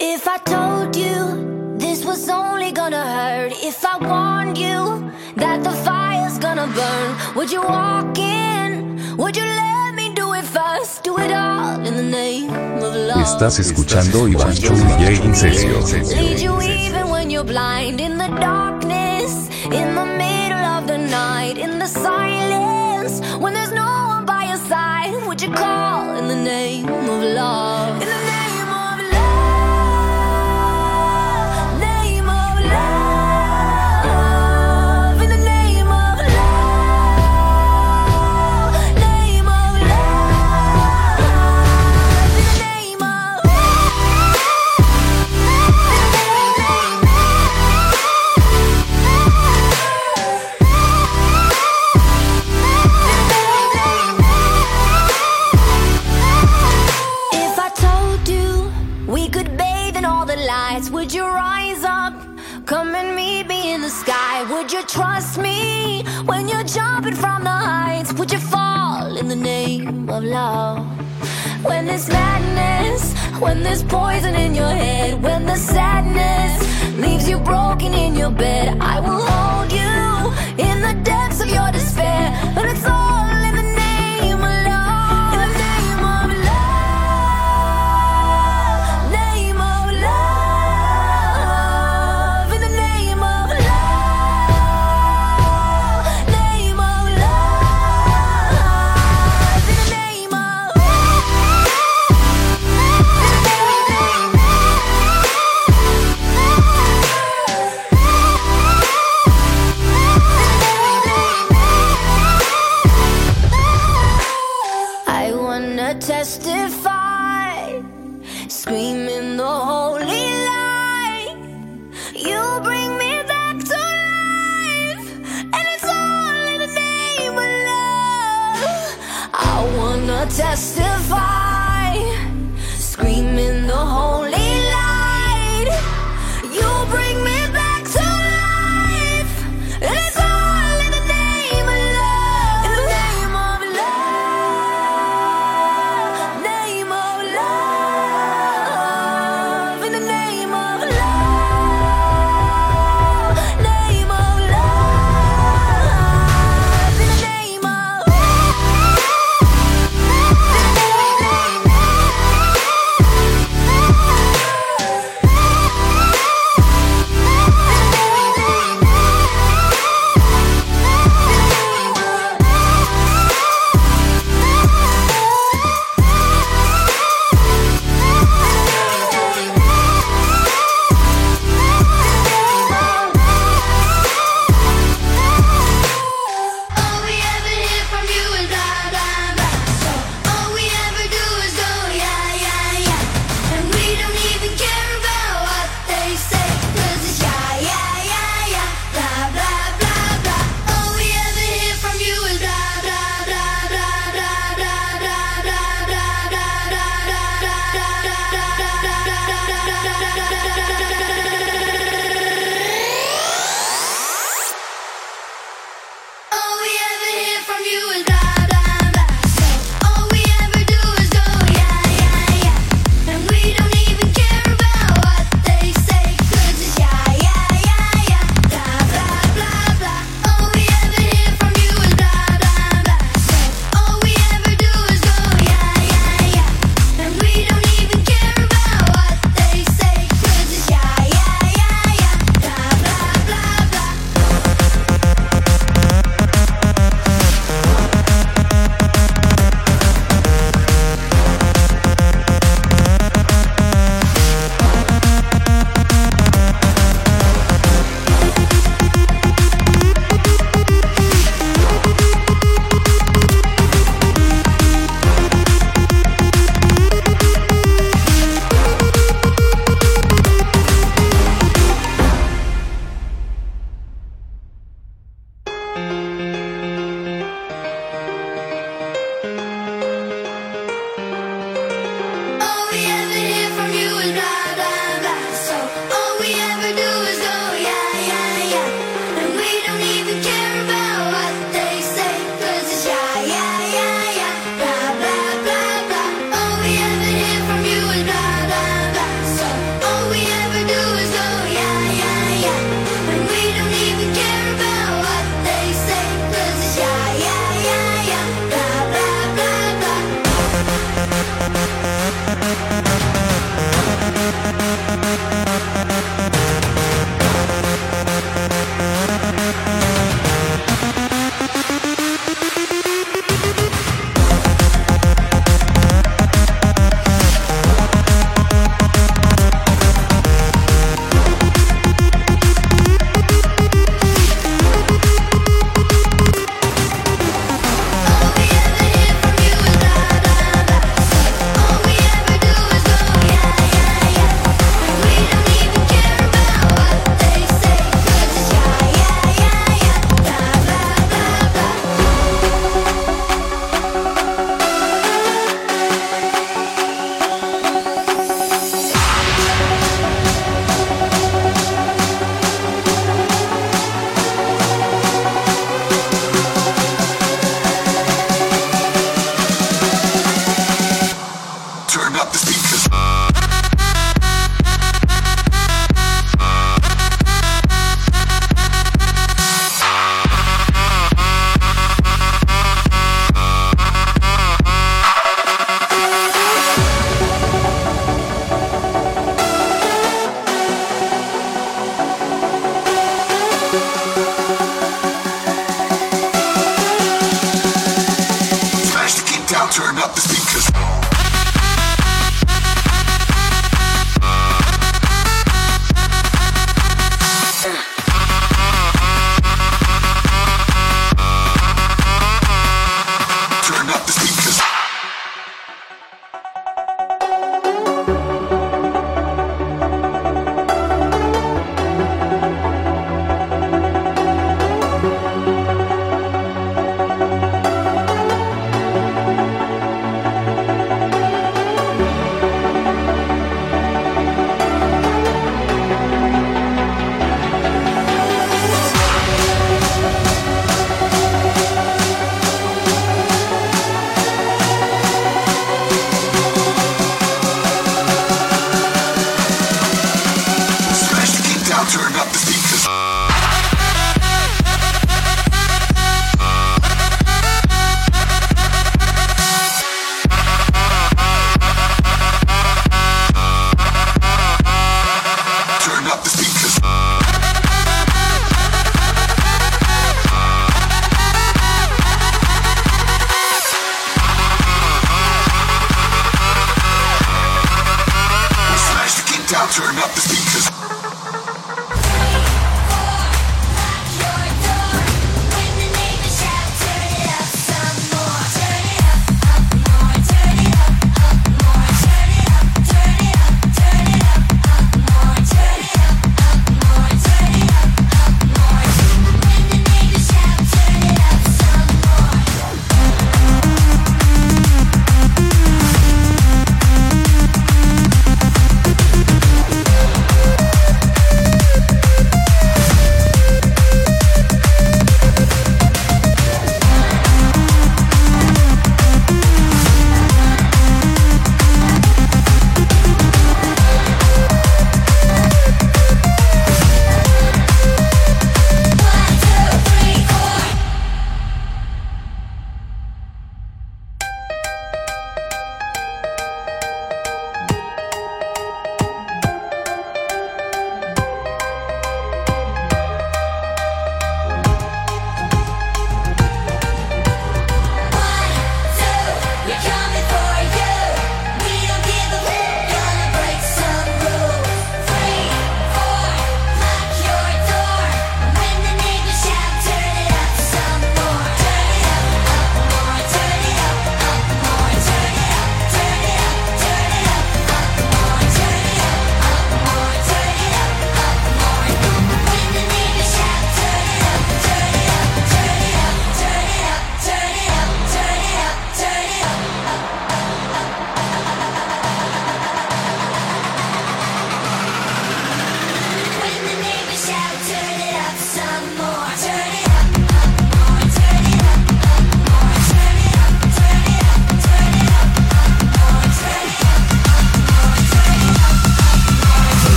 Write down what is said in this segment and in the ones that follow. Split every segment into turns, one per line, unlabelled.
If I told you this was only gonna hurt, if I warned you that the fire's gonna burn, would you walk in? Would you let me do it first? Do it all in the name of love.
Estás escuchando Iván Chu DJ Incesio.
Lead you even when you're blind, in the darkness, in the middle of the night, in the silence, when there's no one by your side. Would you call in the name of love? In the name of love, name of love, in the name of love, name of love, in the name of If I told you we could bathe in all the lights, would you rise up? Come and meet me in the sky. Would you trust me when you're jumping from the heights? Would you fall in the name of love? When there's madness, when there's poison in your head, when the sadness leaves you broken in your bed, I will hold you in the depths of your despair. But it's all in the name of love. In the name of love, name of love, in the name of love, name of love, in the name of I wanna testify, screaming the holy light. You bring me back to life, and it's all in the name of love. I wanna testify, screaming the holy light. You bring me back to life, and it's all in the name of love. In the name of love, name of love, in the name of love, name of love, in the name of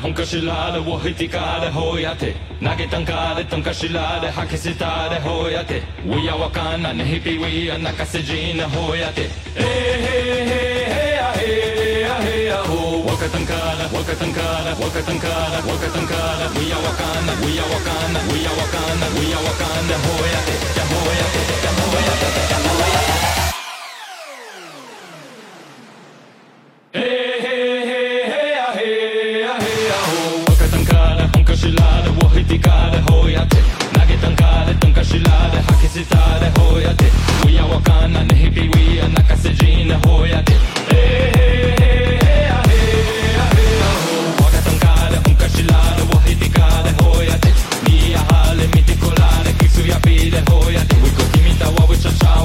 本かしらでを引きかでほやて投げたんかでとんかしらで吐き捨てたでほやてウィアわかんなねひぴウィア泣かせじなほやてへへへやへやへやほわかたんかだわかたんかだわかたんかだわかたんかだウィアわかんなウィアわかんなウィアわかんなウィアわかんなほやてじゃほやてじゃほやてじゃほやてほやて投げたんかでとんかしらで吐き捨てたでほやてウィアわかんなねひぴウィア泣かせじなほやてへへへへやへやへやほわかたんかでとんかしらでを引きかでほやてにやはれみてこられキスやびでほやてウィコ君たわウィチャチャ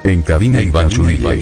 En cabina Iván Zúñiga.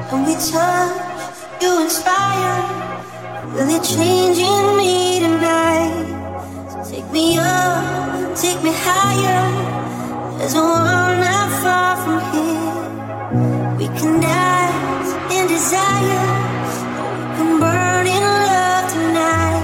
When we touch, you inspire. Really changing me tonight. So take me up, take me higher. There's a world not far from here. We can dance in desire. We can burn in love tonight.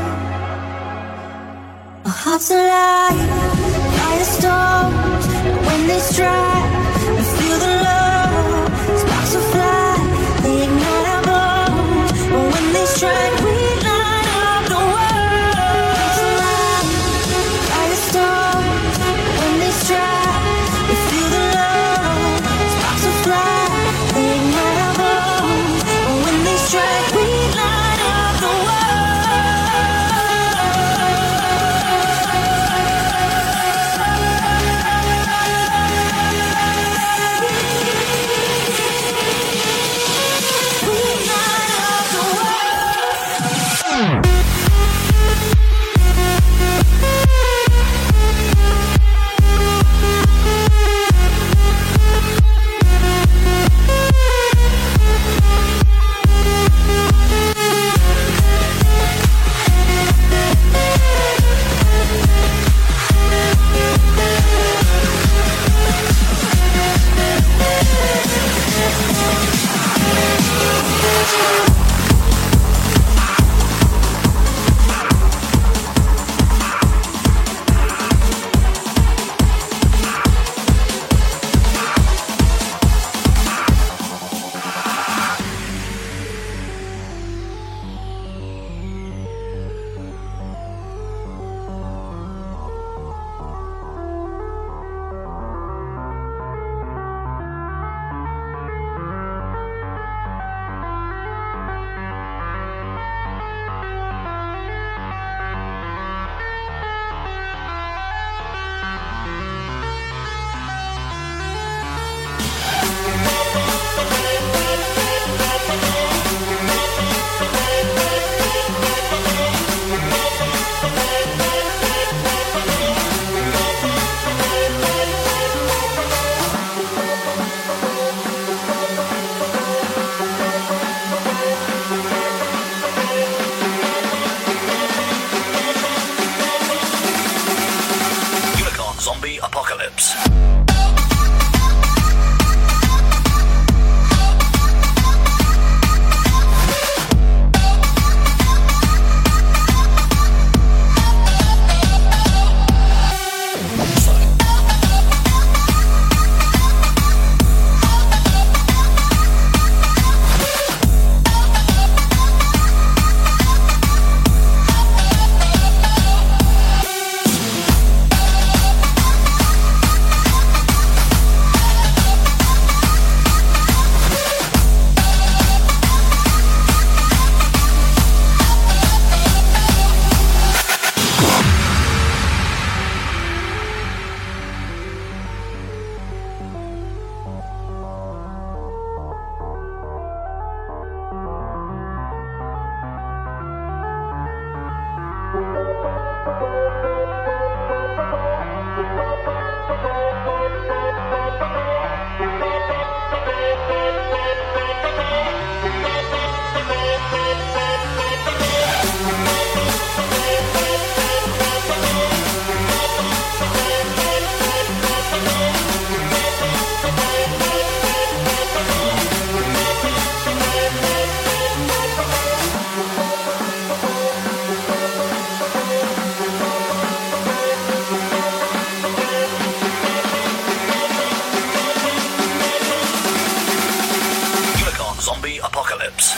Our hearts alive, firestorms. When they strike, we feel the love. Sparks will fly, they ignite our bones. But when they strike, we light up the world. Hearts alive, firestorms. When they strike, we feel the love. Sparks will fly, they ignite our bones. But when they strike, we light up the world.
Zombie Apocalypse. Zombie Apocalypse.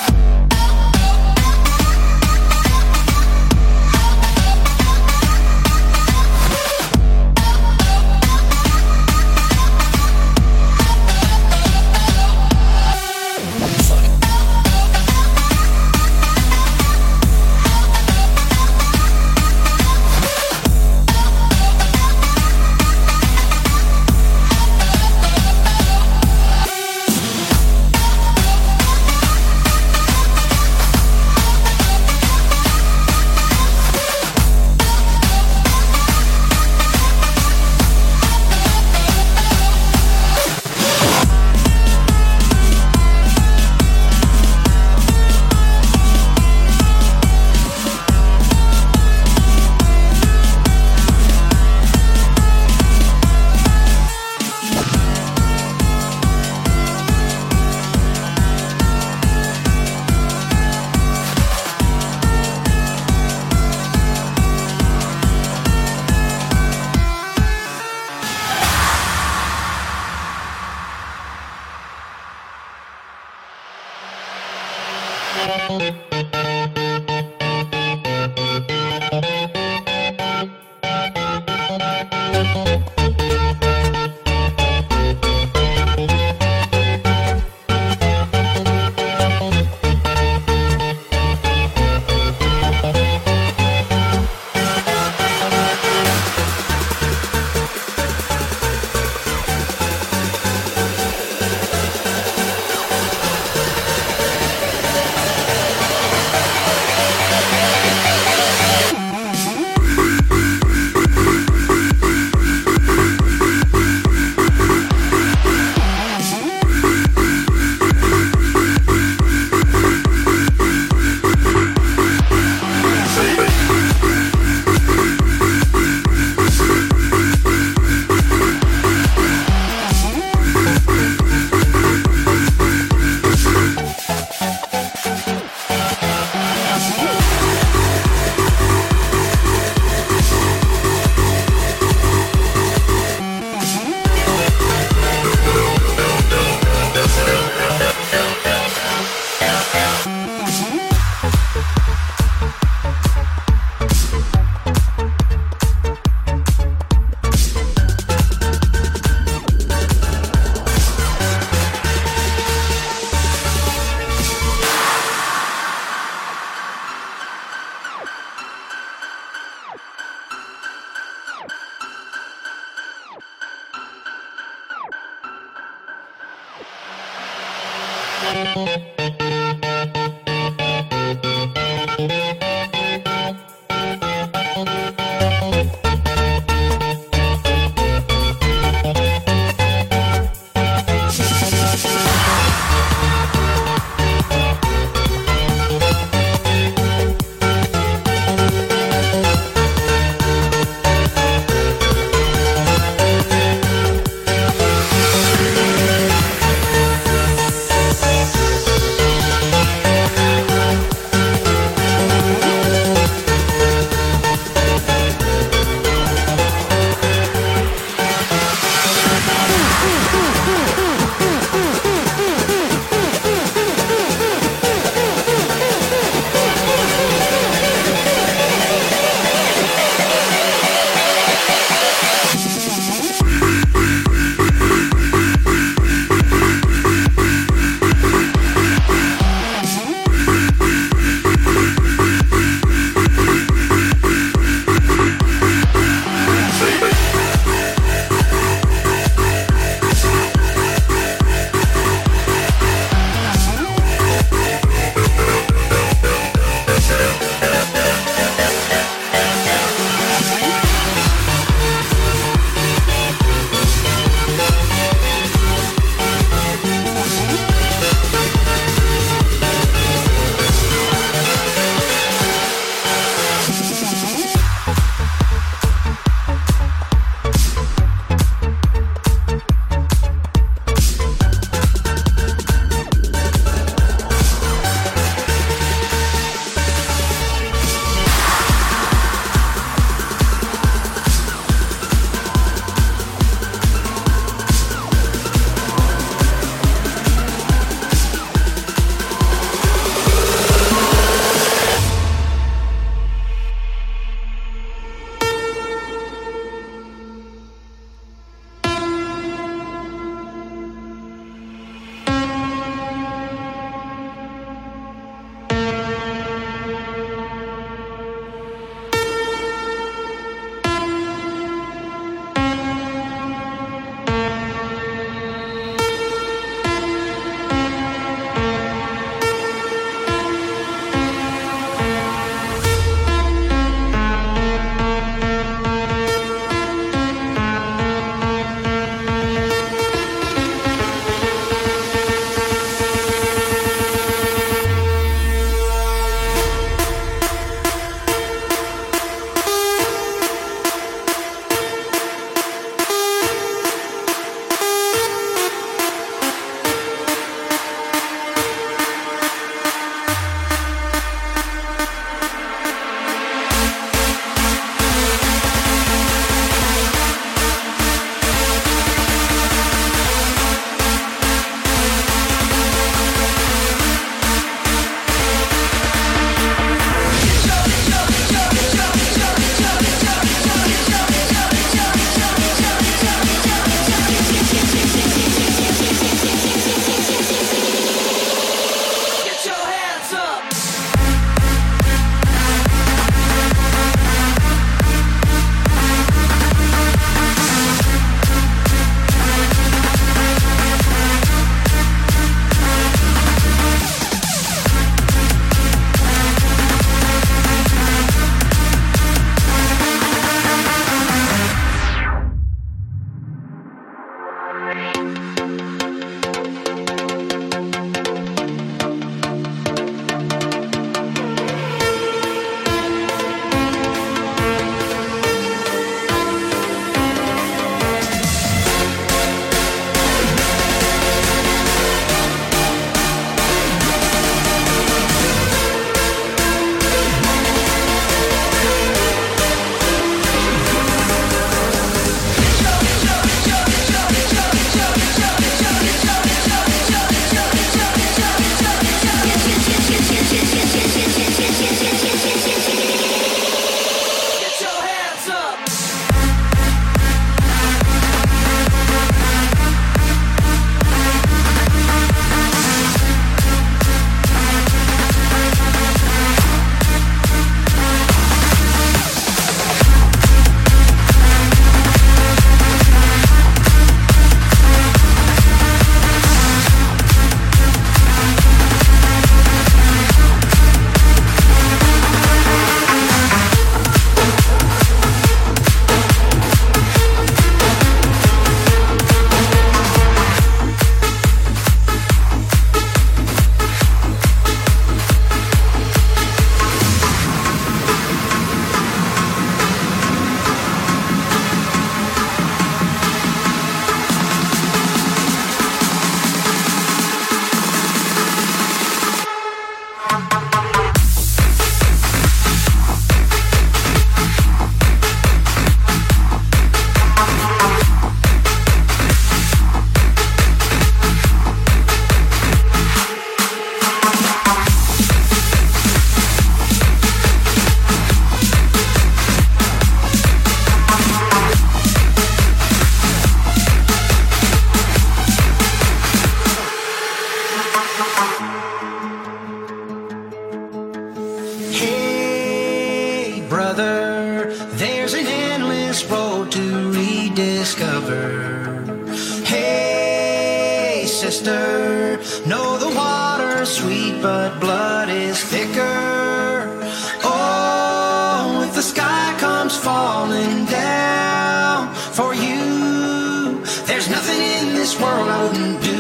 liquor. No, the water's sweet, but blood is thicker. Oh, if the sky comes falling down for you, there's nothing in this world I wouldn't do.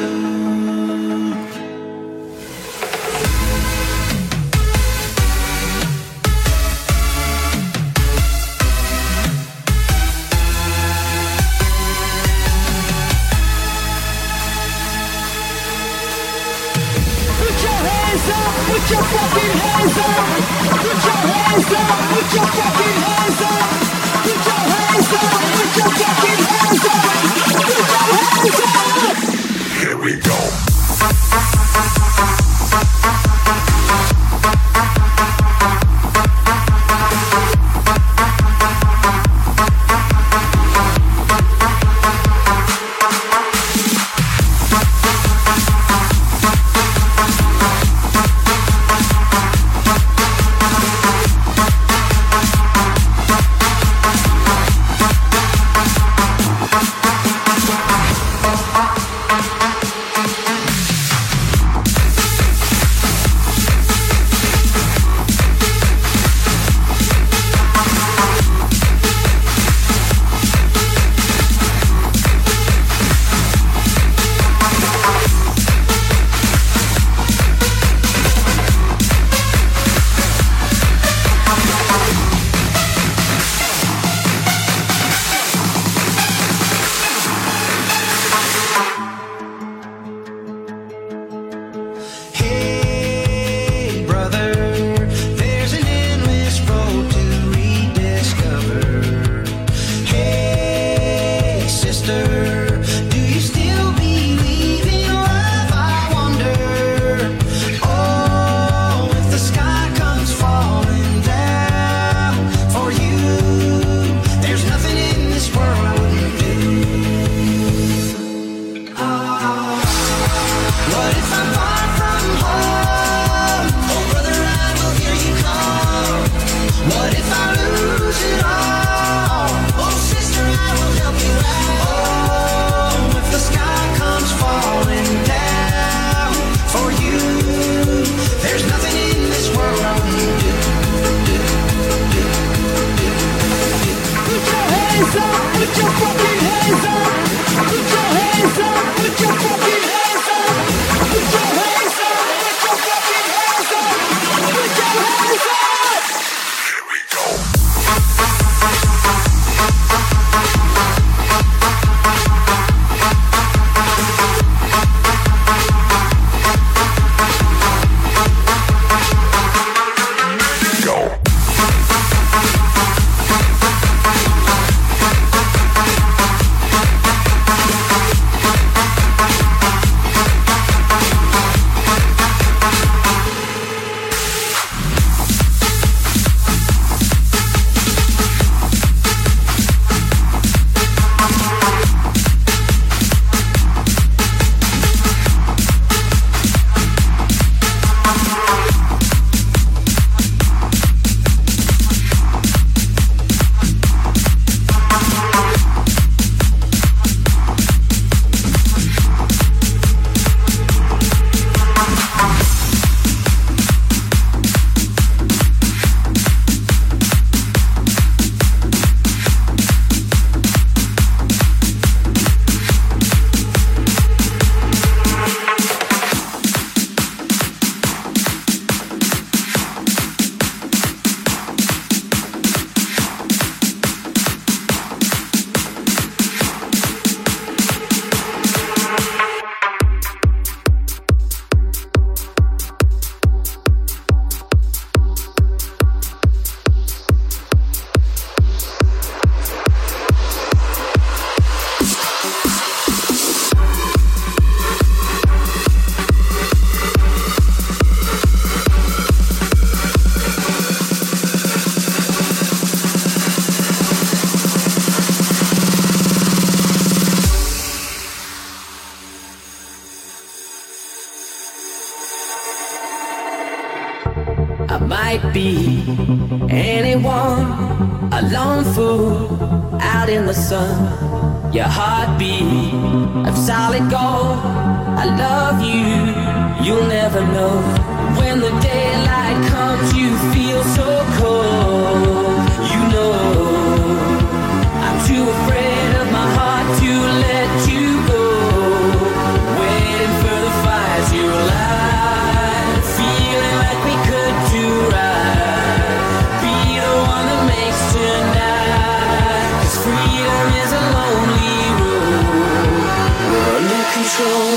Put your fucking hands up! Put your hands up! Put your fucking hands up! Put your hands up! Put your fucking hands up! Put your hands up!
Here we go.
I might be anyone, a lone fool out in the sun. Your heartbeat of solid gold. I love you, you'll never know. When the daylight comes, you feel so cold. You know, I'm too afraid of my heart to let you go. Waiting for the fire to light, feeling like we could do right. Be the one that makes tonight, 'cause freedom is a lonely road. We're under control.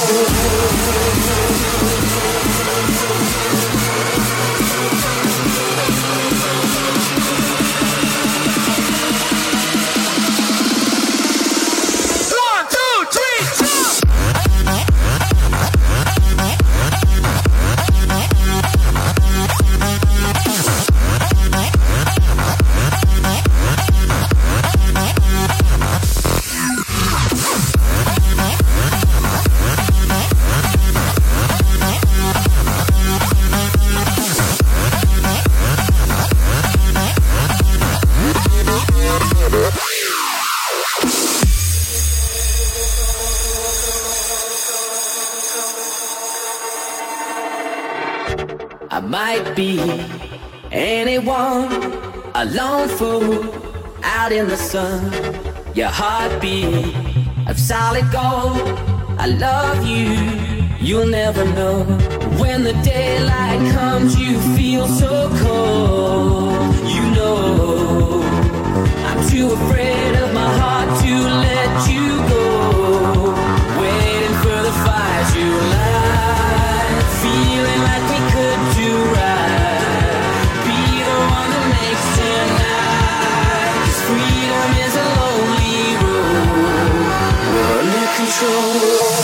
I might be anyone, a lone fool out in the sun. Your heartbeat of solid gold. I love you, you'll never know. When the daylight comes, you feel so cold. You know, I'm too afraid of my heart to let you go. Waiting for the fire to light, feeling like we could do right. Be the one that makes tonight, 'cause freedom is a lonely road. We're under control.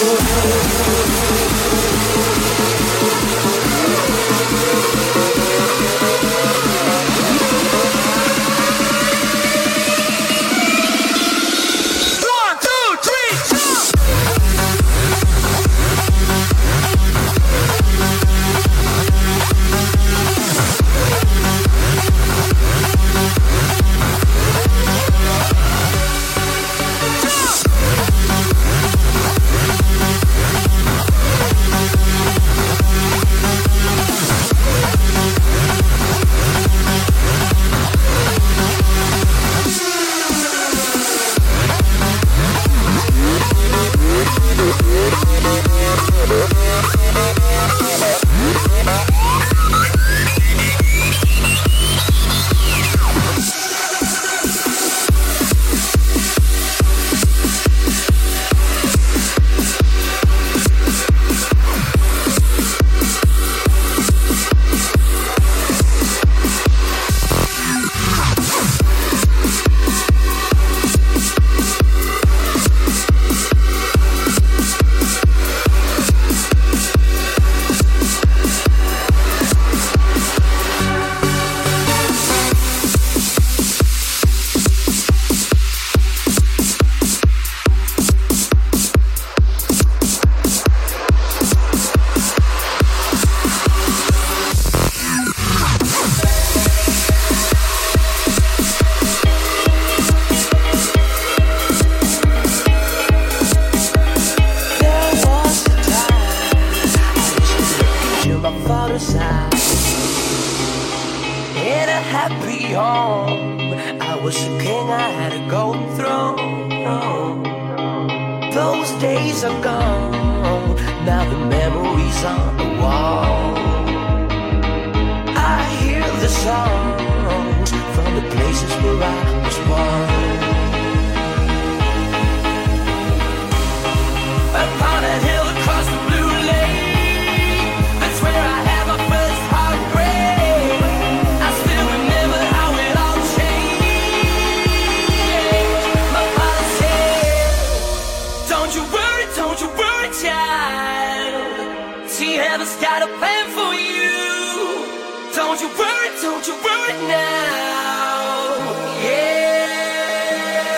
Don't you worry now, yeah.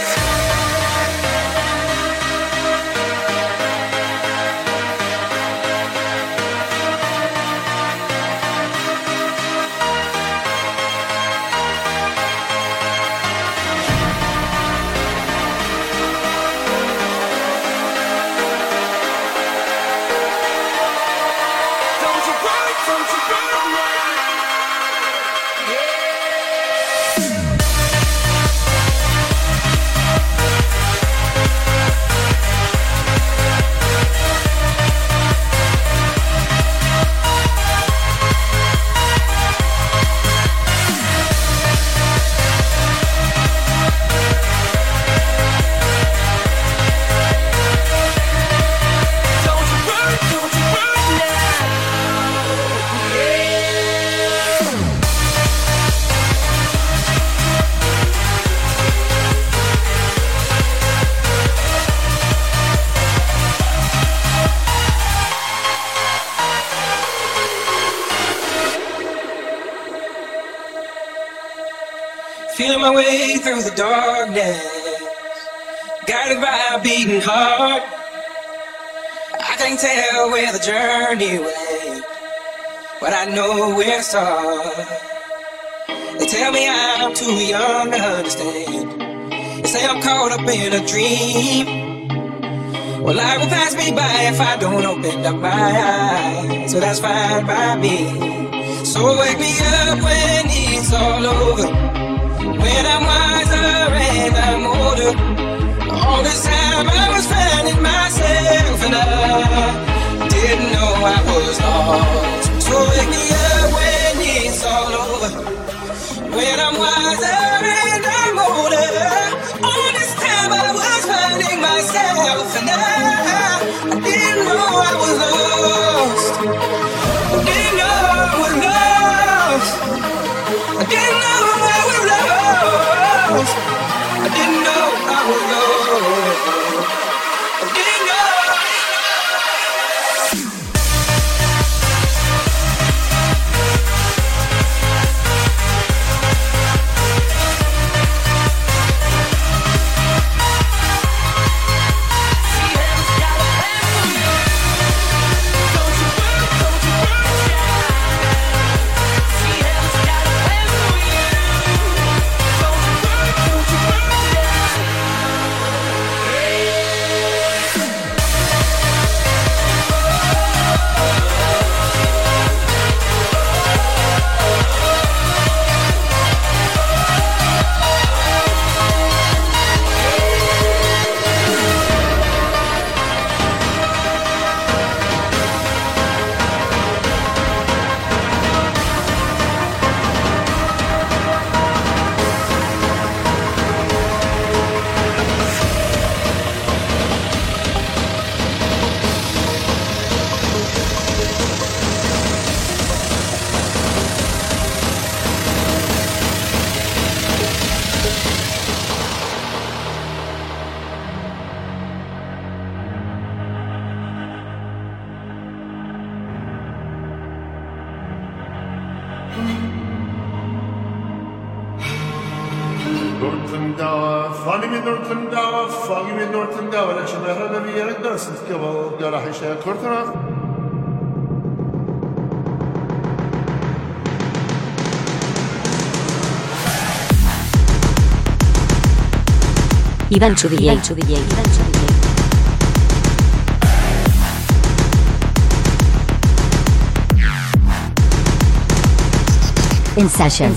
Feeling my way through the darkness, guided by a beating heart. I can't tell where the journey went, but I know where to start. They tell me I'm too young to understand. They say I'm caught up in a dream. Well, life will pass me by if I don't open up my eyes, so that's fine by me. So wake me up when it's all over, when I'm wiser and I'm older. All this time I was finding myself and I didn't know I was lost. So wake me up when it's all over, when I'm wiser and I'm older. All this time I was finding myself and I didn't know I was lost. I didn't know I was lost. I didn't know I was lost. I didn't know I was lost. I didn't know.
Iván DJ. In session.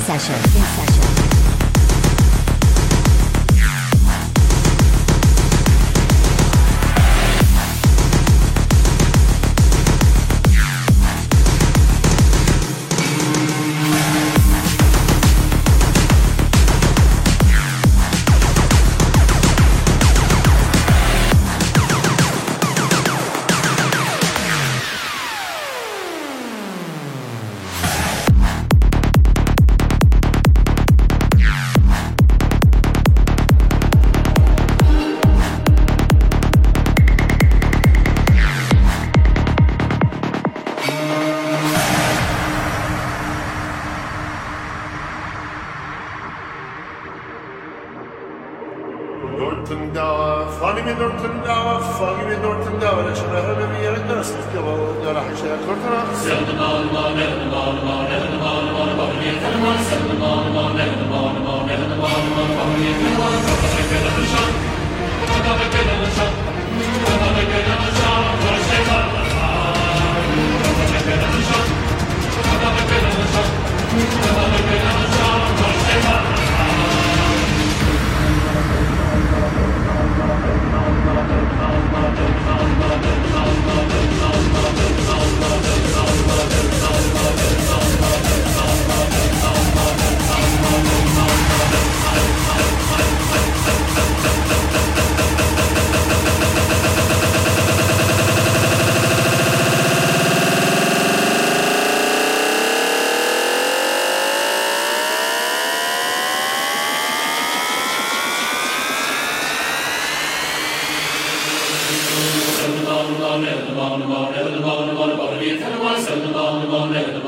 on, live in the